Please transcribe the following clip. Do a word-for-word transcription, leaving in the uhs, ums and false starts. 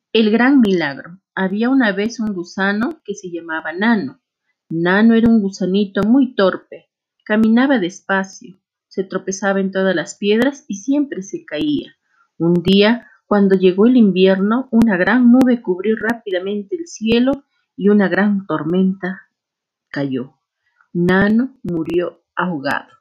El gran milagro. Había una vez un gusano que se llamaba Nano. Nano era un gusanito muy torpe. Caminaba despacio, se tropezaba en todas las piedras y siempre se caía. Un día, cuando llegó el invierno, una gran nube cubrió rápidamente el cielo y una gran tormenta cayó. Nano murió ahogado.